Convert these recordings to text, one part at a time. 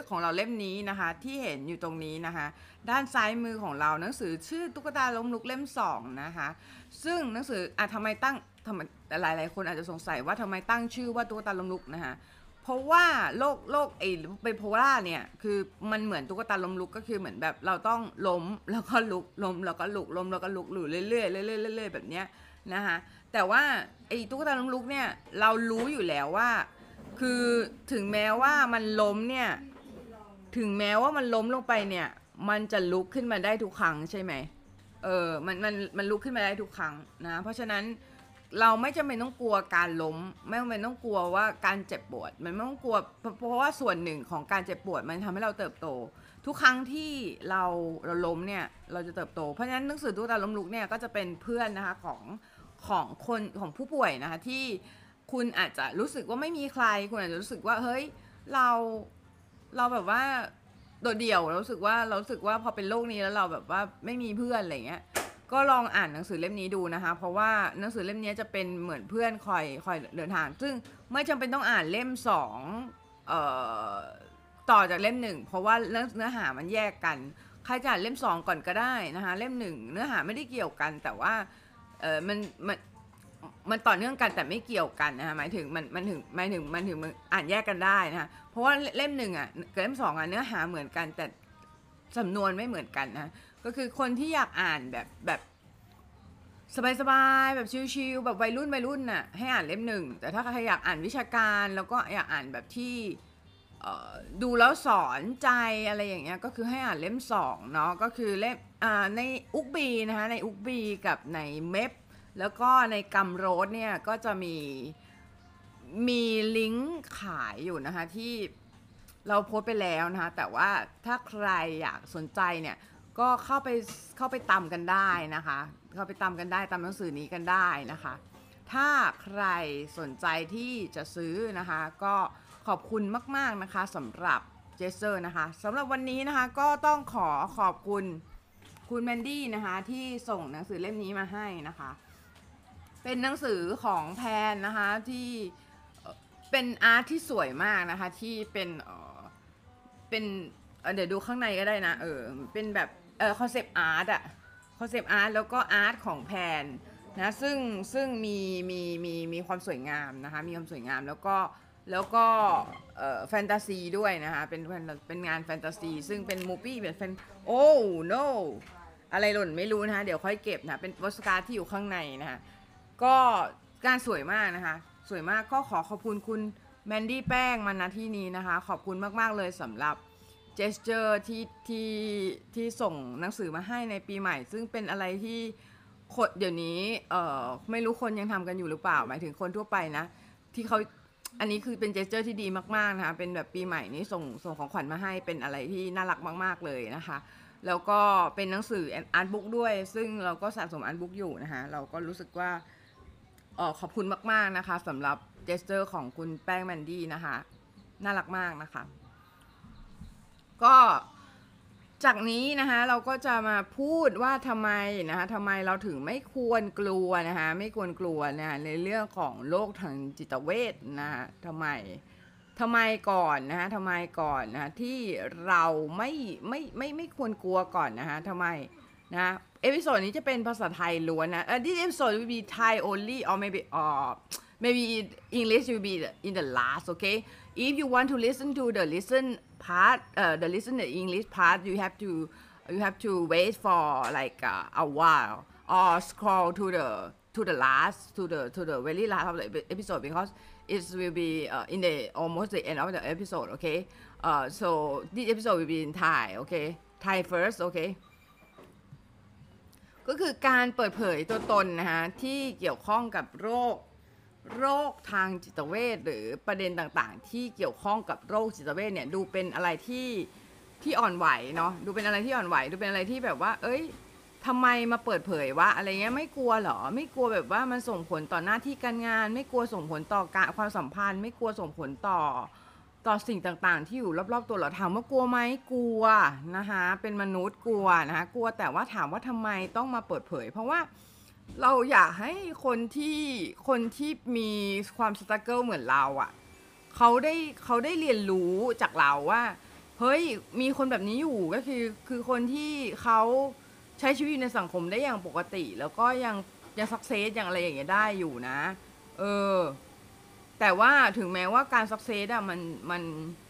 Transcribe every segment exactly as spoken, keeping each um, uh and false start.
ของเราเล่มนี้นะคะที่เห็นอยู่ตรงนี้นะคะด้านซ้ายมือของเราหนังสือชื่อตุ๊กตาล้มลุกเล่มสองนะคะซึ่งหนังสืออ่ะทำไมตั้งทำไมหลายๆคนอาจจะสงสัยว่าทำไมตั้งชื่อว่าตุ๊กตาล้มลุกนะคะเพราะว่าโรคโรคไอ้ไบโพล่าเนี่ยคือมันเหมือนตุ๊กตาล้มลุกก็คือเหมือนแบบเราต้องล้มแล้วก็ลุกล้มแล้วก็ลุกล้มแล้วก็ลุกอยู่เรื่อยๆเรื่อยๆเรื่อยๆแบบเนี้ยนะคะแต่ว่าไอ้ตุ๊กตาล้มลุกเนี่ยเรารู้อยู่แล้วว่าคือถึงแม้ว่ามันล้มเนี่ยถึงแม้ว่ามันล้มลงไปเนี่ยมันจะลุกขึ้นมาได้ทุกครั้งใช่ไหมเออมันมันมันลุกขึ้นมาได้ทุกครั้งนะเพราะฉะนั้นเราไม่จำเป็นต้องกลัวการล้มไม่จำเป็นต้องกลัวว่าการเจ็บปวดมันไม่ต้องกลัวเพราะว่าส่วนหนึ่งของการเจ็บปวดมันทำให้เราเติบโตทุกครั้งที่เราเราล้มเนี่ยเราจะเติบโตเพราะฉะนั้นหนังสือตุ๊กตาล้มลุกเนี่ยก็จะเป็นเพื่อนนะคะของของคนของผู้ป่วยนะคะที่คุณอาจจะรู้สึกว่าไม่มีใครคุณอาจจะรู้สึกว่าเฮ้ยเราเราแบบว่าโดดเดี่ยวเรารู้สึกว่าเรารู้สึกว่าพอเป็นโรคนี้แล้วเราแบบว่าไม่มีเพื่อนอะไรเงี้ยก็ลองอ่านหนังสือเล่มนี้ดูนะคะเพราะว่าหนังสือเล่มนี้จะเป็นเหมือนเพื่อนคอยคอยเดินทางซึ่งไม่จำเป็นต้องอ่านเล่มสองเอ่อต่อจากเล่มหนึ่งเพราะว่าเนื้อหามันแยกกันใครจะอ่านเล่มสองก่อนก็ได้นะคะเล่มหนึ่งเนื้อหาไม่ได้เกี่ยวกันแต่ว่าเออมันมันมันต่อเนื่องกันแต่ไม่เกี่ยวกันนะคะหมายถึงมันมันถึงหมายถึงมันถึงมันอ่านแยกกันได้นะคะเพราะว่าเล่มหนึ่งอ่ะกับเล่มสองอ่ะเนื้อหาเหมือนกันแต่สำนวนไม่เหมือนกันนะก็คือคนที่อยากอ่านแบบแบบสบายๆแบบชิลๆแบบวัยรุ่นวัยรุ่นน่ะให้อ่านเล่มหนึ่งแต่ถ้าใครอยากอ่านวิชาการแล้วก็อยากอ่านแบบที่ดูแล้วสอนใจอะไรอย่างเงี้ยก็คือให้อ่านเล่มสองเนาะก็คือเล่มในอุกบีนะคะในอุกบีกับในเมพแล้วก็ในกัมโรสเนี่ยก็จะมีมีลิงก์ขายอยู่นะคะที่เราโพสต์ไปแล้วนะคะแต่ว่าถ้าใครอยากสนใจเนี่ยก็เข้าไปเข้าไปตามกันได้นะคะเข้าไปตามกันได้ตามหนังสือนี้กันได้นะคะถ้าใครสนใจที่จะซื้อนะคะก็ขอบคุณมากๆนะคะสำหรับเจสเซอร์นะคะสำหรับวันนี้นะคะก็ต้องขอขอบคุณคุณแมนดี้นะคะที่ส่งหนังสือเล่มนี้มาให้นะคะเป็นหนังสือของแพนนะคะที่เป็นอาร์ตที่สวยมากนะคะที่เป็นเออเป็นเดี๋ยวดูข้างในก็ได้นะเออเป็นแบบเออคอนเซปต์อาร์ตอะคอนเซปต์อาร์ตแล้วก็อาร์ตของแพนนะซึ่งซึ่งมีมีมีมีความสวยงามนะคะมีความสวยงามแล้วก็แล้วก็เอ่อแฟนตาซีด้วยนะคะเป็นเป็นงานแฟนตาซีซึ่งเป็นมูฟี่เป็นแฟนโอ้ no อะไรหล่นไม่รู้นะคะเดี๋ยวค่อยเก็บนะเป็นโปสการ์ดที่อยู่ข้างในนะคะก็การสวยมากนะคะสวยมากก็ขอขอบคุณคุณแมนดี้แป้งมาณที่นี้นะคะขอบคุณมากๆเลยสำหรับเจสเจอร์ที่ที่ที่ส่งหนังสือมาให้ในปีใหม่ซึ่งเป็นอะไรที่คนเดี๋ยวนี้เอ่อไม่รู้คนยังทำกันอยู่หรือเปล่าหมายถึงคนทั่วไปนะที่เขาอันนี้คือเป็นเจสเจอร์ที่ดีมากๆนะคะเป็นแบบปีใหม่นี้ส่งส่งของขวัญมาให้เป็นอะไรที่น่ารักมากๆเลยนะคะแล้วก็เป็นหนังสืออาร์ตบุ๊กด้วยซึ่งเราก็สะสมอาร์ตบุ๊กอยู่นะคะเราก็รู้สึกว่าเออขอบคุณมากๆนะคะสำหรับเจสเจอร์ของคุณแป้งแมนดี้นะคะน่ารักมากนะคะก็จากนี้นะคะเราก็จะมาพูดว่าทำไมนะคะทำไมเราถึงไม่ควรกลัวนะคะไม่ควรกลัวนะในเรื่องของโรคทางจิตเวชนะคะทำไมทำไมก่อนนะคะทำไมก่อนนะคะที่เราไม่ไม่ไม่ไม่ควรกลัวก่อนนะคะทำไมนะเอพิโซดนี้จะเป็นภาษาไทยล้วนนะเออ this episode will be Thai only or maybe uh maybe English will be in the last okay if you want to listen to the listen part uh, the listen the English part you have to you have to wait for like uh, a while or scroll to the to the last to the to the very last of the episode because it will be uh, in the almost the end of the episode okay uh, so this episode will be in Thai okay Thai first okay ก็คือการเปิดเผยตัวตนนะคะที่เกี่ยวข้องกับโรคโรคทางจิตเวชหรือประเด็นต่างๆที่เกี่ยวข้องกับโรคจิตเวชเนี่ยดูเป็นอะไรที่ที่อ่อนไหวเนาะดูเป็นอะไรที่อ่อนไหวดูเป็นอะไรที่แบบว่าเอ้ยทำไมมาเปิดเผยวะอะไรเงี้ยไม่กลัวหรอไม่กลัวแบบว่ามันส่งผลต่อหน้าที่การงานไม่กลัวส่งผลต่อการความสัมพันธ์ไม่กลัวส่งผลต่อต่อสิ่งต่างๆที่อยู่รอบๆตัวเราถามว่ากลัวไหมกลัวนะคะเป็นมนุษย์กลัวนะคะกลัวแต่ว่าถามว่าทำไมต้องมาเปิดเผยเพราะว่าเราอยากให้คนที่คนที่มีความสตรักเกิลเหมือนเราอ่ะเขาได้เขาได้เรียนรู้จากเราว่าเฮ้ยมีคนแบบนี้อยู่ก็คือคือคนที่เขาใช้ชีวิตในสังคมได้อย่างปกติแล้วก็ยังยังสักเซสอย่างอะไรอย่างเงี้ยได้อยู่นะเออแต่ว่าถึงแม้ว่าการสักเซสอะมันมัน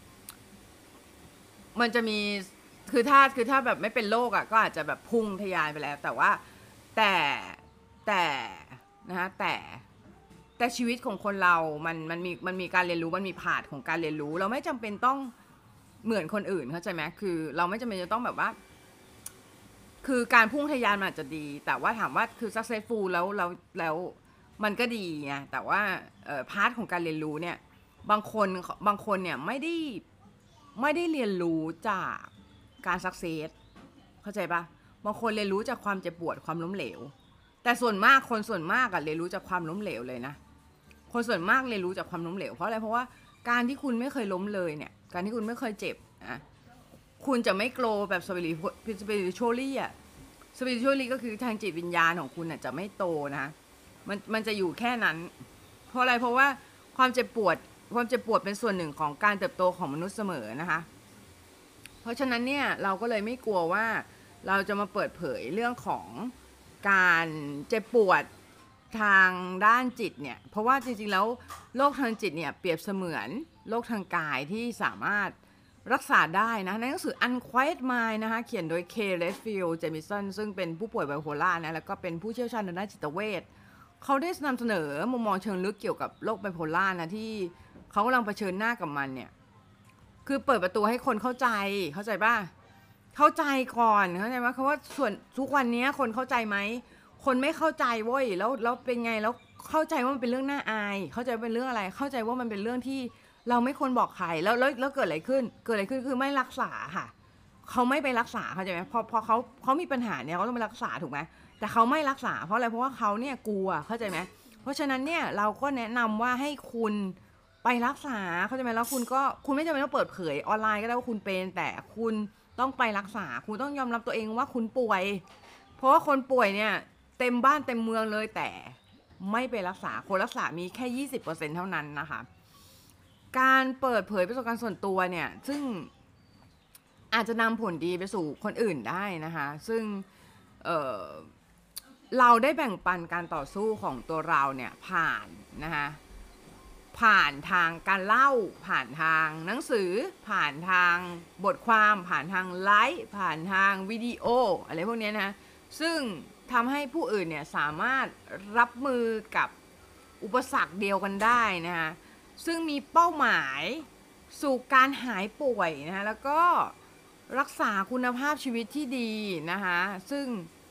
มันจะมีคือถ้าคือถ้าแบบไม่เป็นโรคอะก็อาจจะแบบพุ่งทะยานไปแล้วแต่ว่าแต่แต่นะฮะแต่แต่ชีวิตของคนเรามันมันมีมันมีการเรียนรู้มันมีผาดของการเรียนรู้เราไม่จำเป็นต้องเหมือนคนอื่นเข้าใจไหมคือเราไม่จำเป็นจะต้องแบบว่าคือการพุ่งทะยานมันอาจจะดีแต่ว่าถามว่าคือ successful แล้วแล้วแล้วมันก็ดีไงแต่ว่าเอ่อพาร์ทของการเรียนรู้เนี่ยบางคนบางคนเนี่ยไม่ได้ไม่ได้เรียนรู้จากการสักเซสเข้าใจปะบางคนเรียนรู้จากความเจ็บปวดความล้มเหลวแต่ส่วนมากคนส่วนมากอะเรียนรู้จากความล้มเหลวเลยนะคนส่วนมากเรียนรู้จากความล้มเหลวเพราะอะไรเพราะว่าการที่คุณไม่เคยล้มเลยเนี่ยการที่คุณไม่เคยเจ็บนะคุณจะไม่โกรแบบ spiritually อะ spiritually ก็คือทางจิตวิญญาณของคุณน่ะจะไม่โตนะมันมันจะอยู่แค่นั้นเพราะอะไรเพราะว่าความเจ็บปวดความเจ็บปวดเป็นส่วนหนึ่งของการเติบโตของมนุษย์เสมอนะคะเพราะฉะนั้นเนี่ยเราก็เลยไม่กลัวว่าเราจะมาเปิดเผยเรื่องของการเจ็บปวดทางด้านจิตเนี่ยเพราะว่าจริงๆแล้วโรคทางจิตเนี่ยเปรียบเสมือนโรคทางกายที่สามารถรักษาได้นะในหนังสือ Unquiet Mind นะคะเขียนโดย K. Redfield Jamison ซึ่งเป็นผู้ป่วยไบโพล่านะแล้วก็เป็นผู้เชี่ยวชาญทางด้านจิตเวชเขาได้นำเสนอมุมมองเชิงลึกเกี่ยวกับโรคไบโพล่านะที่เขากำลังเผชิญหน้ากับมันเนี่ยคือเปิดประตูให้คนเข้าใจเข้าใจป่ะเข้าใจก่อนเข้าใจไหมเพราะว่าส่วนทุกวันนี้คนเข้าใจไหมคนไม่เข้าใจเว้ยแล้วแล้วเป็นไงแล้วเข้าใจว่ามันเป็นเรื่องน่าอายเข้าใจเป็นเรื่องอะไรเข้าใจว่ามันเป็นเรื่องที่เราไม่ควรบอกใครแล้วแล้วแล้วเกิดอะไรขึ้นเกิดอะไรขึ้นคือไม่รักษาค่ะเขาไม่ไปรักษาเข้าใจไหมพอพอเขาเขามีปัญหาเนี่ยเขาต้องไปรักษาถูกไหมแต่เขาไม่รักษาเพราะอะไรเพราะว่าเขาเนี่ยกลัวเข้าใจไหมเพราะฉะนั้นเนี่ยเราก็แนะนำว่าให้คุณไปรักษาเข้าใจไหมแล้วคุณก็คุณไม่จำเป็นต้องเปิดเผยออนไลน์ก็ได้ว่าคุณเป็นแต่คุณต้องไปรักษาคุณต้องยอมรับตัวเองว่าคุณป่วยเพราะว่าคนป่วยเนี่ยเต็มบ้านเต็มเมืองเลยแต่ไม่ไปรักษาคนรักษามีแค่ ยี่สิบเปอร์เซ็นต์ เท่านั้นนะคะการเปิดเผยประสบการณ์ส่วนตัวเนี่ยซึ่งอาจจะนำผลดีไปสู่คนอื่นได้นะคะซึ่งเอ่อเราได้แบ่งปันการต่อสู้ของตัวเราเนี่ยผ่านนะคะผ่านทางการเล่าผ่านทางหนังสือผ่านทางบทความผ่านทางไลฟ์ผ่านทางวิดีโออะไรพวกนี้นะซึ่งทำให้ผู้อื่นเนี่ยสามารถรับมือกับอุปสรรคเดียวกันได้นะคะซึ่งมีเป้าหมายสู่การหายป่วยนะคะแล้วก็รักษาคุณภาพชีวิตที่ดีนะคะซึ่ง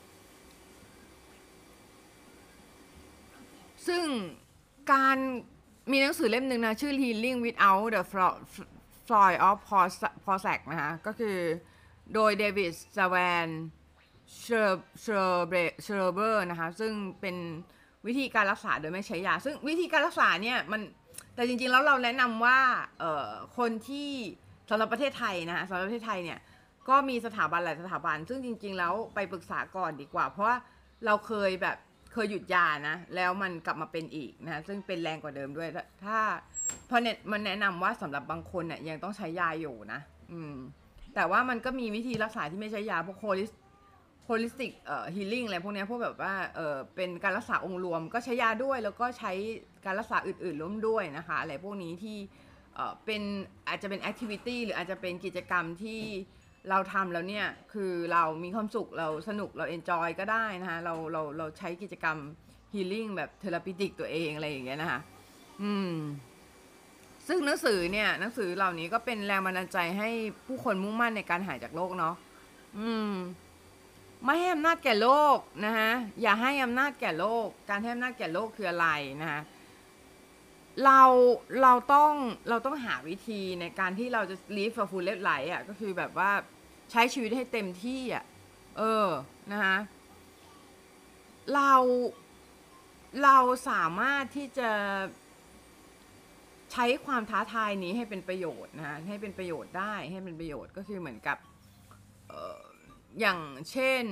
ซึ่งการมีหนังสือเล่มหนึ่งนะชื่อ Healing Without the Floyd of Prozac นะคะก็คือโดยเดวิดสแวนเชอร์เบอร์นะคะซึ่งเป็นวิธีการรักษาโดยไม่ใช้ยาซึ่งวิธีการรักษาเนี่ยมันแต่จริงๆแล้วเราแนะนำว่าเอ่อคนที่สำหรับประเทศไทยนะคะสำหรับประเทศไทยเนี่ยก็มีสถาบันหลายสถาบันซึ่งจริงๆแล้วไปปรึกษาก่อนดีกว่าเพราะว่าเราเคยแบบเคยหยุดยานะแล้วมันกลับมาเป็นอีกนะซึ่งเป็นแรงกว่าเดิมด้วยถ้าเพราะเนี่ยมันแนะนำว่าสำหรับบางคนเนี่ยยังต้องใช้ยาอยู่นะอืมแต่ว่ามันก็มีวิธีรักษาที่ไม่ใช้ยาพวกโฮลิสโฮลิสติกเอ่อฮีลิ่งอะไรพวกนี้พวกแบบว่าเออเป็นการรักษาองค์รวมก็ใช้ยาด้วยแล้วก็ใช้การรักษาอื่นๆร่วมด้วยนะคะอะไรพวกนี้ที่เออเป็นอาจจะเป็นแอคทิวิตี้หรืออาจจะเป็นกิจกรรมที่เราทำแล้วเนี่ยคือเรามีความสุขเราสนุกเราเอนจอยก็ได้นะคะเราเราเราใช้กิจกรรมฮีลิ่งแบบเทอราปิติกตัวเองอะไรอย่างเงี้ยนะคะอืมซึ่งหนังสือเนี่ยหนังสือเหล่านี้ก็เป็นแรงบันดาลใจให้ผู้คนมุ่งมั่นในการหายจากโรคเนาะอืมไม่ให้อำนาจแก่โลกนะฮะอย่าให้อำนาจแก่โลกการให้อำนาจแก่โลกคืออะไรนะคะเราเราต้องเราต้องหาวิธีในการที่เราจะ live a full life อ่ะก็คือแบบว่าใช้ชีวิตให้เต็มที่อ่ะเออนะคะเราเราสามารถที่จะใช้ความท้าทายนี้ให้เป็นประโยชน์นะให้เป็นประโยชน์ได้ให้เป็นประโยชน์ก็คือเหมือนกับเอ่ออย่างเช่น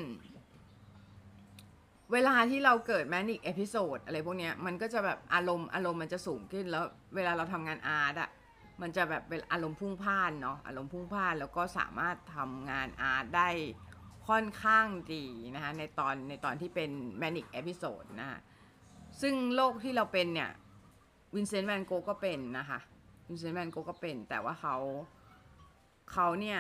เวลาที่เราเกิดแมนิกเอพิโซดอะไรพวกเนี้ยมันก็จะแบบอารมณ์อารมณ์มันจะสูงขึ้นแล้วเวลาเราทำงานอาร์ตอะมันจะแบบเป็นอารมณ์พุ่งพล่านเนาะอารมณ์พุ่งพล่านแล้วก็สามารถทำงานอาร์ตได้ค่อนข้างดีนะคะในตอนในตอนที่เป็น manic episode นะคะซึ่งโรคที่เราเป็นเนี่ยวินเซนต์แวนโกก็เป็นนะคะวินเซนต์แวนโกก็เป็นแต่ว่าเขาเขาเนี่ย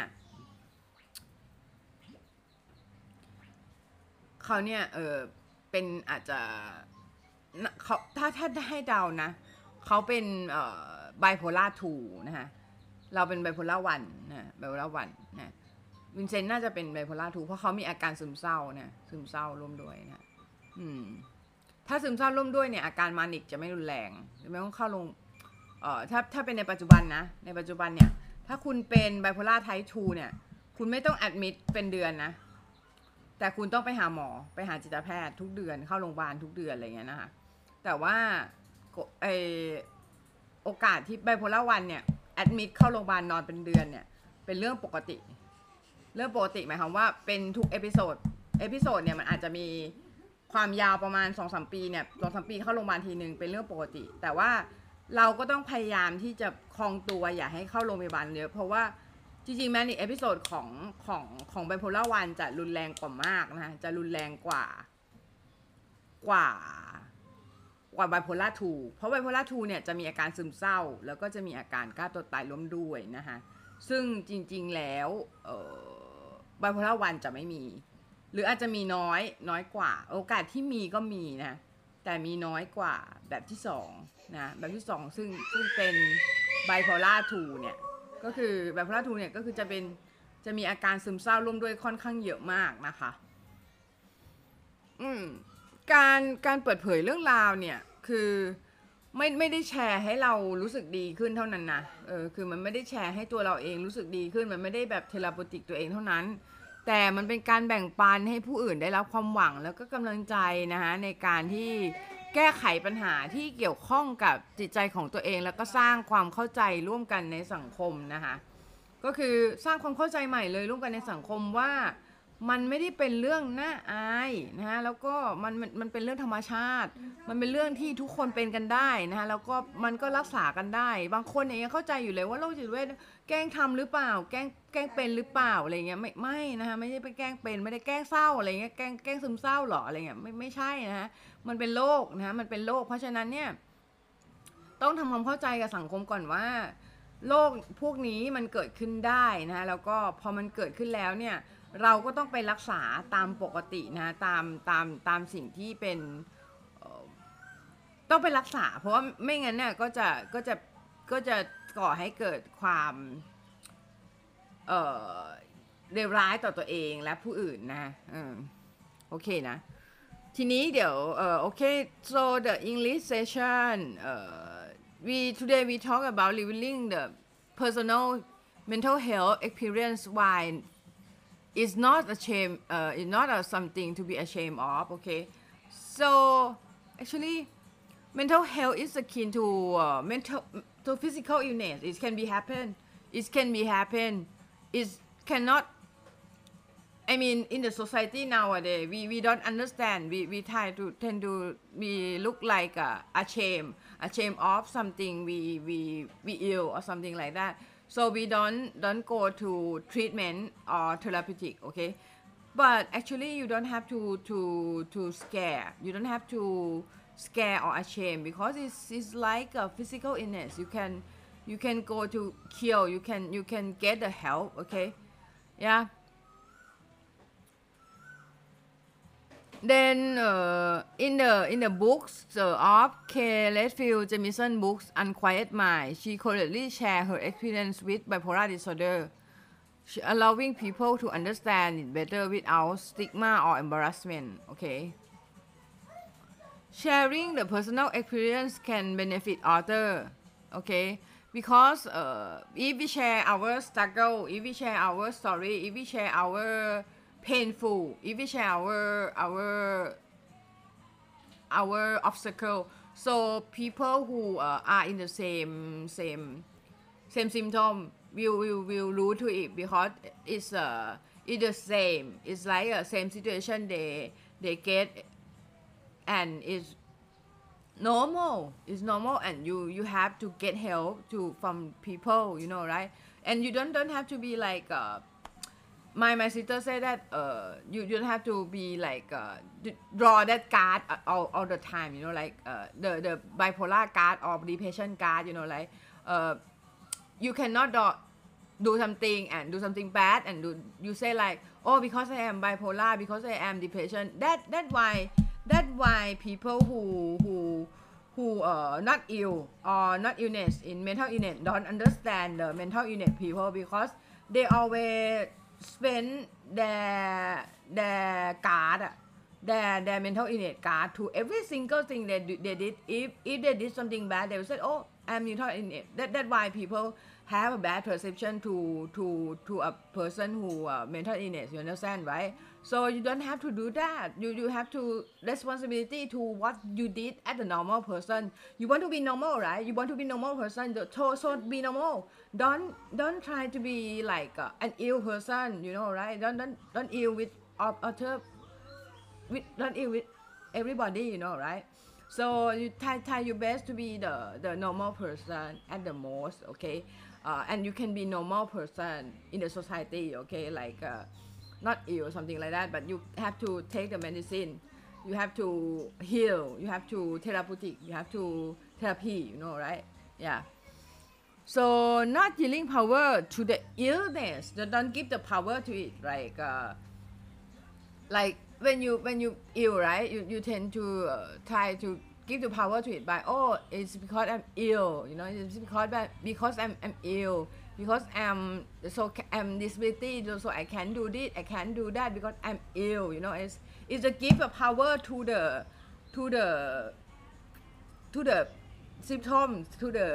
เขาเนี่ยเออเป็นอาจจะเขาถ้าถ้าให้เดานะเขาเป็นเอ่อไบโพล่าทูนะคะเราเป็นไบโพล่าวันนะไบโพล่าวันนะวินเซนต์น่าจะเป็นไบโพล่าทูเพราะเขามีอาการซึมเศร้านะซึมเศร้าร่วมด้วยนะอืมถ้าซึมเศร้าร่วมด้วยเนี่ยอาการมานิกจะไม่รุนแรงไม่ต้องเข้าลงเอ่อถ้าถ้าเป็นในปัจจุบันนะในปัจจุบันเนี่ยถ้าคุณเป็นไบโพล่าไทป์ทูเนี่ยคุณไม่ต้องแอดมิดเป็นเดือนนะแต่คุณต้องไปหาหมอไปหาจิตแพทย์ทุกเดือนเข้าโรงพยาบาลทุกเดือนอะไรเงี้ยนะคะแต่ว่าไอโอกาสที่ไบโพล่าวันเนี่ยแอดมิดเข้าโรงพยาบาลนอนเป็นเดือนเนี่ยเป็นเรื่องปกติเรื่องปกติหมายความว่าเป็นทุกเอพิโซดเอพิโซดเนี่ยมันอาจจะมีความยาวประมาณ สองถึงสาม ปีเนี่ย สองถึงสาม ปีเข้าโรงพยาบาลทีนึงเป็นเรื่องปกติแต่ว่าเราก็ต้องพยายามที่จะคองตัวอย่าให้เข้าโรงพยาบาลเยอะเพราะว่าจริงๆแม้ในเอพิโซดของของของไบโพล่าวันจะรุนแรงกว่ามากนะคะจะรุนแรงกว่ากว่ากว่าไบโพล่าทูเพราะไบโพล่าทูเนี่ยจะมีอาการซึมเศร้าแล้วก็จะมีอาการฆ่าตัวตายร่วมด้วยนะคะซึ่งจริงๆแล้วไบโพล่าวันจะไม่มีหรืออาจจะมีน้อยน้อยกว่าโอกาสที่มีก็มีนะแต่มีน้อยกว่าแบบที่สองนะแบบที่สองซึ่งซึ่งเป็นไบโพล่าทูเนี่ยก็คือไบโพล่าทูเนี่ยก็คือจะเป็นจะมีอาการซึมเศร้าร่วมด้วยค่อนข้างเยอะมากนะคะอืมการการเปิดเผยเรื่องราวเนี่ยคือไม่ไม่ได้แชร์ให้เรารู้สึกดีขึ้นเท่านั้นนะเออคือมันไม่ได้แชร์ให้ตัวเราเองรู้สึกดีขึ้นมันไม่ได้แบบเทเลโพติกตัวเองเท่านั้นแต่มันเป็นการแบ่งปันให้ผู้อื่นได้รับความหวังแล้วก็กำลังใจนะคะในการที่แก้ไขปัญหาที่เกี่ยวข้องกับจิตใจของตัวเองแล้วก็สร้างความเข้าใจร่วมกันในสังคมนะคะก็คือสร้างความเข้าใจใหม่เลยร่วมกันในสังคมว่ามันไม่ได้เป็นเรื่องน่าอายนะฮะแล้วก็มันมันมันเป็นเรื่องธรรมชาติมันเป็นเรื่องที่ทุกคนเป็นกันได้นะฮะแล้วก็มันก็รักษากันได้บางคนเนี่ยยังเข้าใจอยู่เลยว่าโรคจิตเวชแกล้งทำหรือเปล่าแกล้งแกล้งเป็นหรือเปล่าอะไรเงี้ยไม่ไม่นะฮะไม่ได้ไปแกล้งเป็นไม่ได้แกล้งเศร้าอะไรเงี้ยแกล้งแกล้งซึมเศร้าหรออะไรเงี้ยไม่ไม่ใช่นะฮะมันเป็นโรคนะฮะมันเป็นโรคเพราะฉะนั้นเนี่ยต้องทำความเข้าใจกับสังคมก่อนว่าโรคพวกนี้มันเกิดขึ้นได้นะฮะแล้วก็พอมันเกิดขึ้นแล้วเนี่ยเราก็ต้องไปรักษาตามปกตินะตามตามตามสิ่งที่เป็นต้องไปรักษาเพราะว่าไม่งั้นเนี่ยก็จะก็จะก็จะก่อให้เกิดความเอ่อเลวร้ายต่อตัวเองและผู้อื่นนะอืมโอเคนะทีนี้เดี๋ยวเอ่อโอเค so the English session เอ่อ we today we talk about revealing the personal mental health experience why it's not a shame uh, it's not a something to be ashamed of okay so actually mental health is akin to uh, mental to physical illness it can be happen it can be happen it cannot I mean in the society nowadays we we don't understand we we try to tend to we look like a, a shame a shame of something we we we ill or something like that so we don't don't go to treatment or therapeutic okay but actually you don't have to to to scare you don't have to scare or ashamed because it's it's like a physical illness you can you can go to cure you can you can get the help okay yeah then uh, in the in the books uh, of K. Redfield Jamison books Unquiet Mind she correctly share her experience with bipolar disorder she allowing people to understand it better without stigma or embarrassment okay sharing the personal experience can benefit other okay because uh, if we share our struggle if we share our story if we share our painful if we share our our our obstacle so people who uh, are in the same same same symptom will will willรู้to it because it's uh it's the same it's like a same situation they they get and is normal is normal and you you have to get help to from people, you know, right? And you don't don't have to be like uh, my my sister said that uh you you don't have to be like uh draw that card all, all the time, you know, like uh the the bipolar card or depression card, you know, like uh you cannot do, do something and do something bad and do you say like, oh, because I am bipolar, because I am depression, that that why that why people who who who uh not ill or not illness in mental illness don't understand the mental illness people, because they always spend their their card their their mental illness card to every single thing they do, they did. If if they did something bad, they will say, oh, I'm mental illness. That that's why people have a bad perception to to to a person who uh, mental illness. You understand, right? So you don't have to do that. You you have to responsibility to what you did as a normal person. You want to be normal, right? You want to be normal person. So so be normal. Don't don't try to be like uh, an ill person. You know, right? Don't don't don't ill with other with not ill with everybody. You know, right? So you try try your best to be the the normal person at the most. Okay, uh, and you can be normal person in the society. Okay, like. Uh, not ill or something like that, but you have to take the medicine, you have to heal, you have to therapeutic, you have to therapy, you know, right? Yeah. So not giving power to the illness, don't give the power to it, like uh, like when you when you ill, right? You you tend to uh, try to give the power to it by, oh, it's because I'm ill, you know, it's because that because I'm I'm ill, because I'm so I'm disability, so I can't do this, I can't do that because I'm ill, you know. It's it's a give a power to the to the to the symptoms, to the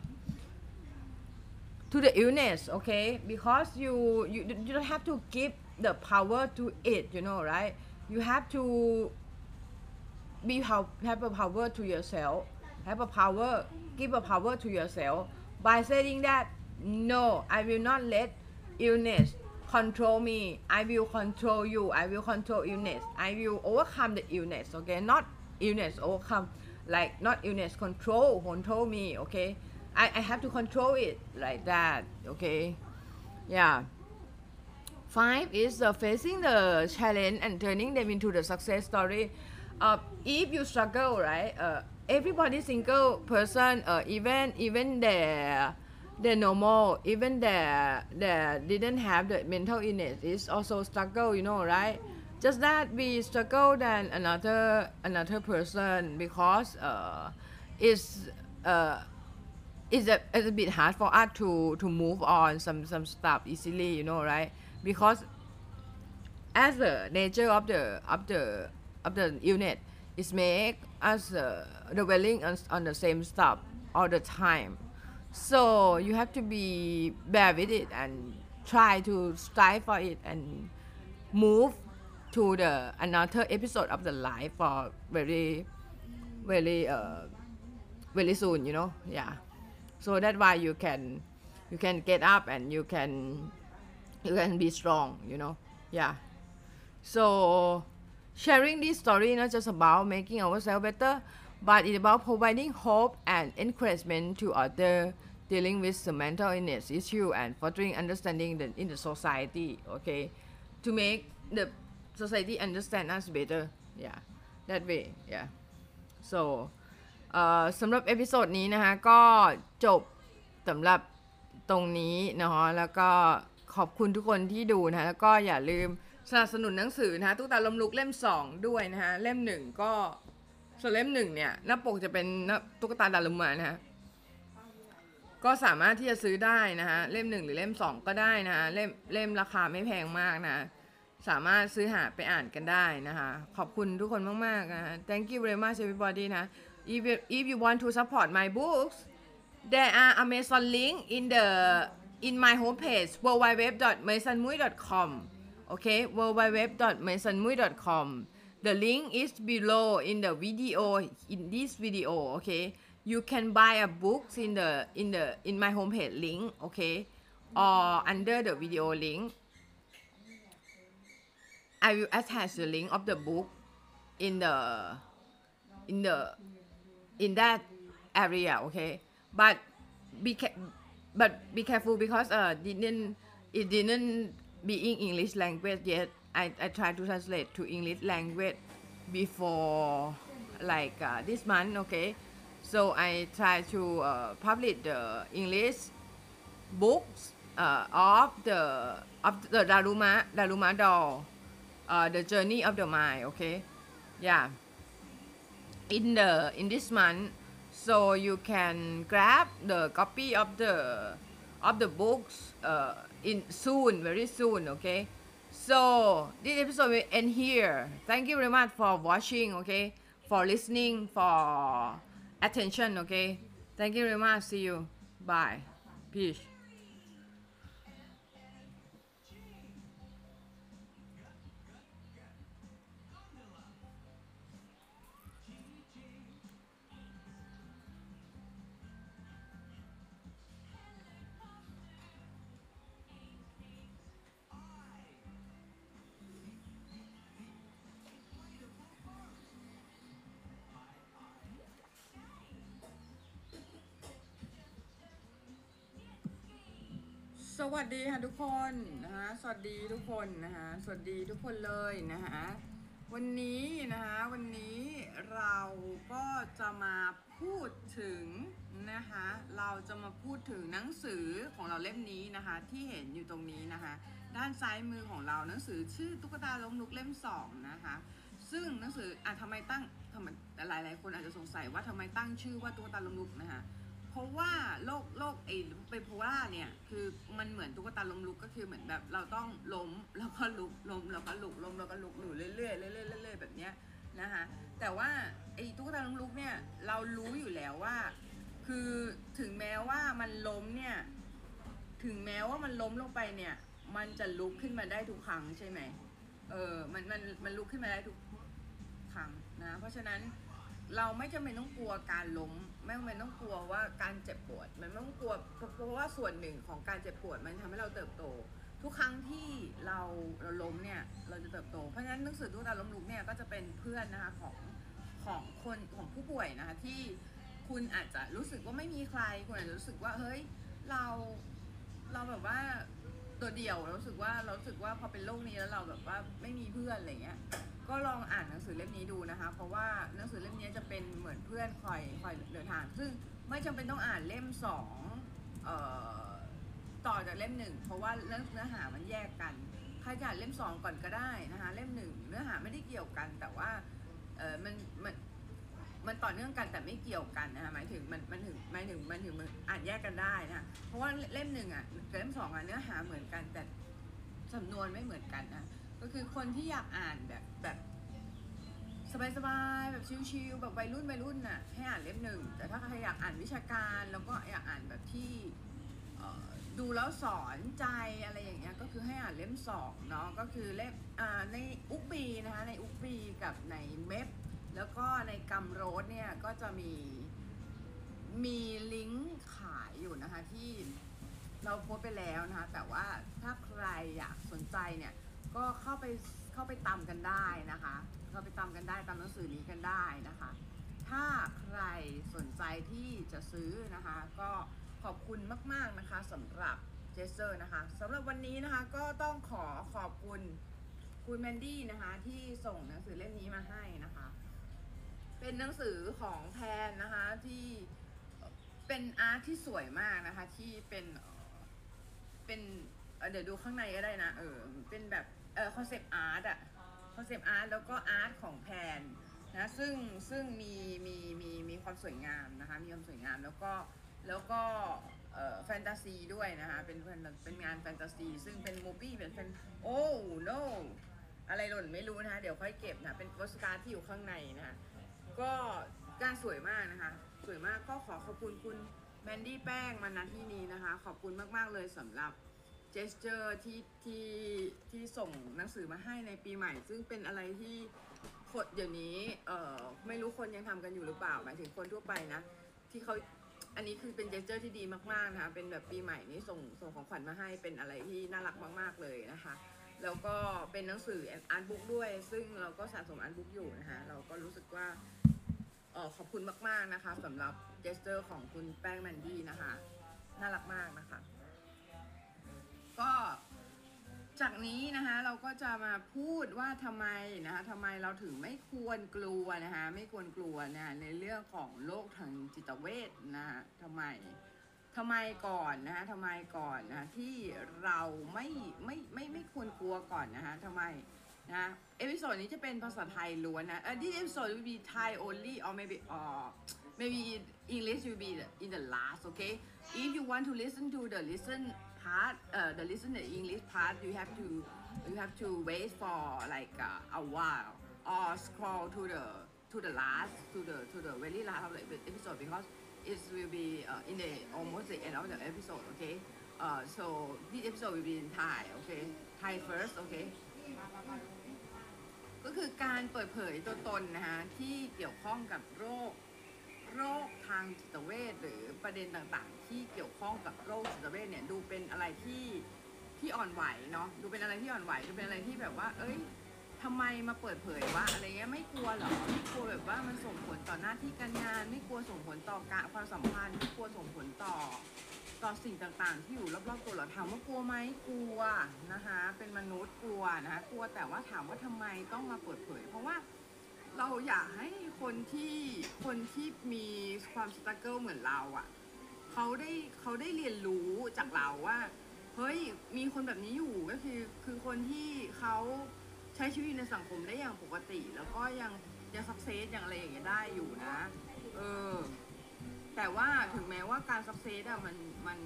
to the illness, okay? Because you you you don't have to give the power to it, you know, right? You have to be have a power to yourself, have a power, give a power to yourself by saying that, no, I will not let illness control me, I will control you, I will control illness, I will overcome the illness, okay? Not illness overcome, like not illness control control me, okay? I, I have to control it like that, okay? Yeah. Five is uh, facing the challenge and turning them into the success story. Uh, if you struggle, right? Uh, everybody single person, uh, even even their their normal, even their their didn't have the mental illness is also struggle, you know, right? Just that we struggle than another another person because uh, it's uh, it's a, it's a bit hard for us to to move on some some stuff easily, you know, right? Because as the nature of the of the of the unit is make us uh, dwelling on, on the same stuff all the time, so you have to be bear with it and try to strive for it and move to the another episode of the life for very very uh, very soon, you know. Yeah. So that's why you can you can get up and you can you can be strong, you know. Yeah. So sharing this story not just about making ourselves better, but it's about providing hope and encouragement to others dealing with the mental illness issue and fostering understanding the, in the society, okay, to make the society understand us better. Yeah, that way. Yeah. So สำหรับเอพิโซดนี้นะคะก็จบสำหรับตรงนี้นะคะแล้วก็ขอบคุณทุกคนที่ดูนะคะแล้วก็อย่าลืมสนับสนุนหนังสือนะคะตุ๊กตาล้มลุกเล่มสองด้วยนะคะเล่มหนึ่งก็ส่วนเล่มหนึ่งเนี่ยหน้าปกจะเป็นตุ๊กตาดารุมะนะคะก็สามารถที่จะซื้อได้นะคะเล่มหนึ่งหรือเล่มสองก็ได้นะคะเล่มเล่มราคาไม่แพงมากนะสามารถซื้อหาไปอ่านกันได้นะคะขอบคุณทุกคนมากๆนะคะ thank you very much everybody นะ if you, if you want to support my books there are Amazon link in the in my homepage w w w dot maisonmui dot com okay w w w dot maisonmui dot com the link is below in the video in this video okay you can buy a book in the in the in my homepage link okay or under the video link I will attach the link of the book in the in the in that area, okay, but be ca- but be careful because uh didn't it didn't be in English language yet. I I try to translate to English language before like uh, this month, okay. So I try to uh, publish the English books uh, of the of the Daruma Daruma doll, uh, the journey of the mind, okay. Yeah, in the in this month, so you can grab the copy of the of the books uh, in soon, very soon, okay. So this episode will end here. Thank you very much for watching, okay, for listening, for attention, okay. Thank you very much. See you. Bye. Peace. สวัสดีค่ะทุกคนนะคะสวัสดีทุกคนนะคะสวัสดีทุกคนเลยนะคะวันนี้นะคะวันนี้เราก็จะมาพูดถึงนะคะเราจะมาพูดถึงหนังสือของเราเล่มนี้นะคะที่เห็นอยู่ตรงนี้นะคะด้านซ้ายมือของเราหนังสือชื่อตุ๊กตาล้มลุกเล่มสองนะคะซึ่งหนังสืออ่ะทำไมตั้งทำไมหลายหลายคนอาจจะสงสัยว่าทำไมตั้งชื่อว่าตุ๊กตาล้มลุกนะคะเพราะว่าโรคโรคไอ้ไบโพล่าเนี่ยคือมันเหมือนตุ๊กตาล้มลุกก็คือเหมือนแบบเราต้องล้มแล้วก็ลุกล้มแล้วก็ลุกล้มแล้วก็ลุกอยู่เรื่อยๆเรื่อยๆเรื่อยๆแบบเนี้ยนะคะแต่ว่าไอ้ตุ๊กตาล้มลุกเนี่ยเรารู้อยู่แล้วว่าคือถึงแม้ว่ามันล้มเนี่ยถึงแม้ว่ามันล้มลงไปเนี่ยมันจะลุกขึ้นมาได้ทุกครั้งใช่ไหมเออมันมันมันลุกขึ้นมาได้ทุกครั้งนะเพราะฉะนั้นเราไม่จำเป็นต้องกลัวการล้มไม่จำเป็นต้องกลัวว่าการเจ็บปวดมันไม่ต้องกลัวเพราะว่าส่วนหนึ่งของการเจ็บปวดมันทำให้เราเติบโตทุกครั้งที่เราเราล้มเนี่ยเราจะเติบโตเพราะฉะนั้นหนังสือตุ๊กตาล้มลุกเนี่ยก็จะเป็นเพื่อนนะคะของของคนของผู้ป่วยนะคะที่คุณอาจจะรู้สึกว่าไม่มีใครคุณอาจจะรู้สึกว่าเฮ้ยเราเราแบบว่าตัวเดียวเรารู้สึกว่าเรารู้สึกว่าพอเป็นโรคนี้แล้วเราแบบว่าไม่มีเพื่อนอะไรเงี้ยก็ลองอ่านหนังสือเล่มนี้ดูนะคะเพราะว่าหนังสือเล่มนี้จะเป็นเหมือนเพื่อนคอยคอยเดินทางซึ่งไม่จำเป็นต้องอ่านเล่มสองเอ่อต่อจากเล่มหนึ่งเพราะว่าเนื้อเนื้อหามันแยกกันใครจะอ่านเล่มสองก่อนก็ได้นะคะเล่มหนึ่งเนื้อหาไม่ได้เกี่ยวกันแต่ว่าเออมันมันมันต่อเนื่องกันแต่ไม่เกี่ยวกันนะคะหมายถึงมันมันถึงหมายถึงมันถึงมันอ่านแยกกันได้นะเพราะว่าเล่มหนึ่งอ่ะกับเล่มสองอ่ะเนื้อหาเหมือนกันแต่สำนวนไม่เหมือนกันนะก็คือคนที่อยากอ่านแบบแบบสบายๆแบบชิลๆแบบวัยรุ่นวัยรุ่นน่ะให้อ่านเล่มหนึ่งแต่ถ้าใครอยากอ่านวิชาการแล้วก็อยากอ่านแบบที่ดูแล้วสอนใจอะไรอย่างเงี้ยก็คือให้อ่านเล่มสองเนาะก็คือเล่มในอุกบีนะคะในอุกบีกับในเมฟแล้วก็ในกัมโรสเนี่ยก็จะมีมีลิงก์ขายอยู่นะคะที่เราโพสไปแล้วนะคะแต่ว่าถ้าใครอยากสนใจเนี่ยก็เข้าไปเข้าไปตามกันได้นะคะเข้าไปตามกันได้ตามหนังสือนี้กันได้นะคะถ้าใครสนใจที่จะซื้อนะคะก็ขอบคุณมากๆนะคะสำหรับเจสเซอร์นะคะสำหรับวันนี้นะคะก็ต้องขอขอบคุณคุณแมนดี้นะคะที่ส่งหนังสือเล่มนี้มาให้นะคะเป็นหนังสือของแพนนะคะที่เป็นอาร์ตที่สวยมากนะคะที่เป็นเป็นเดี๋ยวดูข้างในก็ได้นะเออเป็นแบบเออคอนเซปต์อาร์ตอะคอนเซปต์อาร์ตแล้วก็อาร์ตของแพนนะซึ่งซึ่งมีมีมีมีความสวยงามนะคะมีความสวยงามแล้วก็แล้วก็เอ่อแฟนตาซีด้วยนะคะเป็นเป็นงานแฟนตาซีซึ่งเป็นมูฟี่เป็นเป็นโอ้ no อะไรหล่นไม่รู้นะคะเดี๋ยวค่อยเก็บนะเป็นโปสการ์ดที่อยู่ข้างในนะคะก็การสวยมากนะคะสวยมากก็ขอขอบคุณคุณแมนดี้แป้งมาณที่นี้นะคะขอบคุณมากๆเลยสำหรับเจสเจอร์ที่ที่ที่ส่งหนังสือมาให้ในปีใหม่ซึ่งเป็นอะไรที่คนเดี๋ยวนี้เอ่อไม่รู้คนยังทำกันอยู่หรือเปล่าหมายถึงคนทั่วไปนะที่เขาอันนี้คือเป็นเจสเจอร์ที่ดีมากๆนะคะเป็นแบบปีใหม่นี้ส่งส่งของขวัญมาให้เป็นอะไรที่น่ารักมากๆเลยนะคะแล้วก็เป็นหนังสืออาร์ตบุ๊กด้วยซึ่งเราก็สะสมอาร์ตบุ๊กอยู่นะคะเราก็รู้สึกว่าเออขอบคุณมากๆนะคะสำหรับเจสเตอร์ของคุณแป้งแมนดี้นะคะน่ารักมากนะคะก็จากนี้นะคะเราก็จะมาพูดว่าทำไมนะคะทำไมเราถึงไม่ควรกลัวนะคะไม่ควรกลัวนะในเรื่องของโรคทางจิตเวชนะคะทำไมทำไมก่อนนะคะทำไมก่อนนะที่เราไม่ไม่ไม่ไม่ควรกลัวก่อนนะคะทำไมนะเอพิโซดนี้จะเป็นภาษาไทยล้วนนะเออ this episode will be Thai only or maybe uh maybe English will be in the last okay if you want to listen to the listen part uh the listen the English part you have to you have to wait for like uh, a while or scroll to the to the last to the to the very last of the episode because it will be uh, in the almost the end of the episode okay uh so this episode will be in Thai okay Thai first okayก็คือการเปิดเผยตัวตนนะคะที่เกี่ยวข้องกับโรคโรคทางจิตเวชหรือประเด็นต่างๆที่เกี่ยวข้องกับโรคจิตเวชเนี่ยดูเป็นอะไรที่ที่อ่อนไหวเนาะดูเป็นอะไรที่อ่อนไหวดูเป็นอะไรที่แบบว่าเอ้ยทำไมมาเปิดเผยวะอะไรเงี้ยไม่กลัวหรอไม่กลัวแบบว่ามันส่งผลต่อหน้าที่การงานไม่กลัวส่งผลต่อการความสัมพันธ์ไม่กลัวส่งผลต่อต่อสิ่งต่างๆที่อยู่รอบๆตัวเราถามว่ากลัวไหมกลัวนะคะเป็นมนุษย์กลัวนะคะกลัวแต่ว่าถามว่าทำไมต้องมาเปิดเผยเพราะว่าเราอยากให้คนที่คนที่มีความสตรักเกิลเหมือนเราอ่ะเขาได้เขาได้เรียนรู้จากเราว่าเฮ้ยมีคนแบบนี้อยู่ก็คือคือคนที่เขาใช้ชีวิตในสังคมได้อย่างปกติแล้วก็ยังยังสักเซสอย่างอะไรอย่างเงี้ยได้อยู่นะเออแต่ว่าถึงแม้ว่าการสักเซสอะมันมัน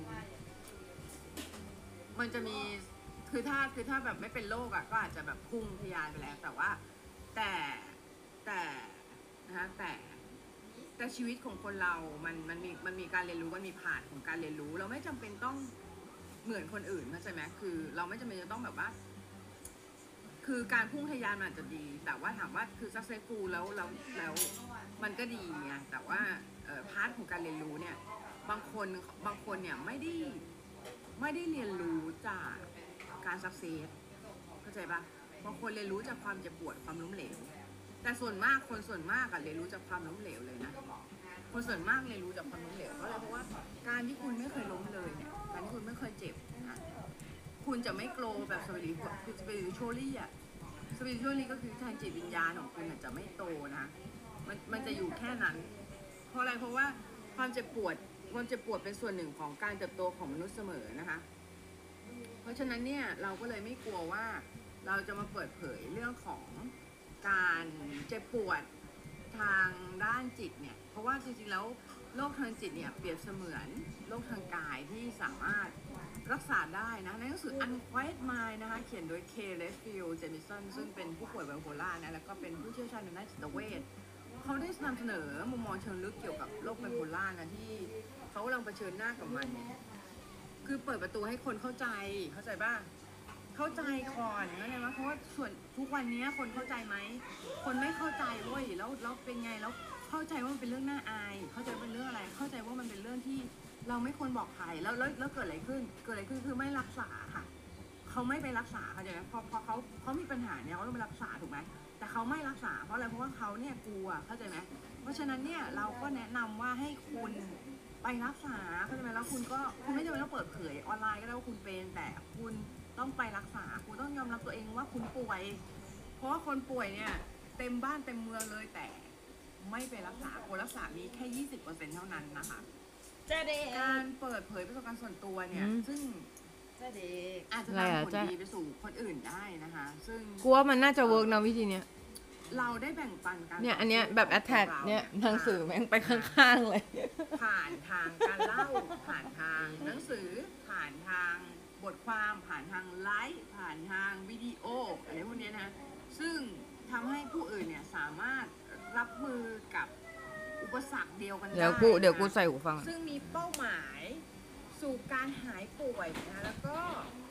มันจะมีคือถ้าคือถ้าแบบไม่เป็นโรคอะก็อาจจะแบบพุ่งทะยานไปแล้วแต่ว่าแต่แต่นะคะแต่แต่ชีวิตของคนเรามันมันมีมันมีการเรียนรู้มันมีผ่านของการเรียนรู้เราไม่จำเป็นต้องเหมือนคนอื่นเข้าใจไหมคือเราไม่จำเป็นจะต้องแบบว่าคือการพุ่งทะยานมันอาจจะดีแต่ว่าถามว่าคือ successful แล้วแล้วแล้วมันก็ดีไงแต่ว่าพาร์ทของการเรียนรู้เนี่ยบางคนบางคนเนี่ยไม่ได้ไม่ได้เรียนรู้จากการ success เข้าใจปะบางคนเรียนรู้จากความเจ็บปวดความล้มเหลวแต่ส่วนมากคนส่วนมากอะเรียนรู้จากความล้มเหลวเลยนะคนส่วนมากเรียนรู้จากความล้มเหลวเพราะอะไรเพราะว่าการที่คุณไม่เคยล้มเลยเนี่ยการที่คุณไม่เคยเจ็บนะคุณจะไม่โกรแบบสปิริตคือสปิริตชัวรี่อะสปิริตชัวรี่ก็คือทางจิตวิญญาณของคุณจะไม่โตนะมันมันจะอยู่แค่นั้นเพราะอะไรเพราะว่าความเจ็บปวดความเจ็บปวดเป็นส่วนหนึ่งของการเติบโตของมนุษย์เสมอนะคะเพราะฉะนั้นเนี่ยเราก็เลยไม่กลัวว่าเราจะมาเปิดเผยเรื่องของการเจ็บปวดทางด้านจิตเนี่ยเพราะว่าจริงๆแล้วโรคทางจิตเนี่ยเปรียบเสมือนโรคทางกายที่สามารถรักษาได้นะในหนังสือ Unquiet Mind นะคะเขียนโดย K. Redfield Jamison ซึ่งเป็นผู้ป่วยไบโพล่านะแล้วก็เป็นผู้เชี่ยวชาญในด้านจิตเวชเขาได้นำเสนอมุมมองเชิงลึกเกี่ยวกับโรคไบโพล่านะที่เขากำลังเผชิญหน้ากับมันเนี่ยคือเปิดประตูให้คนเข้าใจเข้าใจบ้างเข้าใจก่อนนะเนี่ยเพราะว่าส่วนทุกวันนี้คนเข้าใจไหมคนไม่เข้าใจเว้ยแล้วแล้วเป็นไงแล้วเข้าใจว่ามันเป็นเรื่องน่าอายเข้าใจเป็นเรื่องอะไรเข้าใจว่ามันเป็นเรื่องที่เราไม่ควรบอกใครแล้วแล้วแล้วเกิดอะไรขึ้นเกิดอะไรขึ้นคือไม่รักษาค่ะเขาไม่ไปรักษาเข้าใจไหมพอพอเขาเขามีปัญหาเนี่ยเขาต้องไปรักษาถูกไหมแต่เขาไม่รักษาเพราะอะไรเพราะว่าเขาเนี่ยกลัวเข้าใจไหมเพราะฉะนั้นเนี่ยเราก็แนะนำว่าให้คุณไปรักษาเข้าใจไหมแล้วคุณก็คุณไม่จำเป็นต้องเปิดเผยออนไลน์ก็ได้ว่าคุณเป็นแต่คุณต้องไปรักษาคุณต้องยอมรับตัวเองว่าคุณป่วยเพราะว่าคนป่วยเนี่ยเต็มบ้านเต็มเมืองเลยแต่ไม่ไปรักษาคนรักษามีแค่ ยี่สิบเปอร์เซ็นต์ เท่านั้นนะคะการเปิดเผยประสบการณ์ส่วนตัวเนี่ยซึ่งอาจจะนำผลดีไปสู่คนอื่นได้นะคะซึ่งกลัวมันน่าจะเวิร์กนะวิธีเนี้ยเราได้แบ่งปันกันเนี่ยอันเนี้ยแบบ attach เนี่ยหนังสือแม่งไปข้างๆเลยผ่านทางการเล่าผ่านทางหนังสือผ่านทางบทความผ่านทางไลฟ์ผ่านทางวิดีโออะไรพวกนี้นะซึ่งทำให้ผู้อื่นเนี่ยสามารถรับมือกับอุปสรรคเดียวกันได้เดี๋ยวกูเดี๋ยวกูใส่หูฟังซึ่งมีเป้าหมายสู่การหายป่วยนะแล้วก็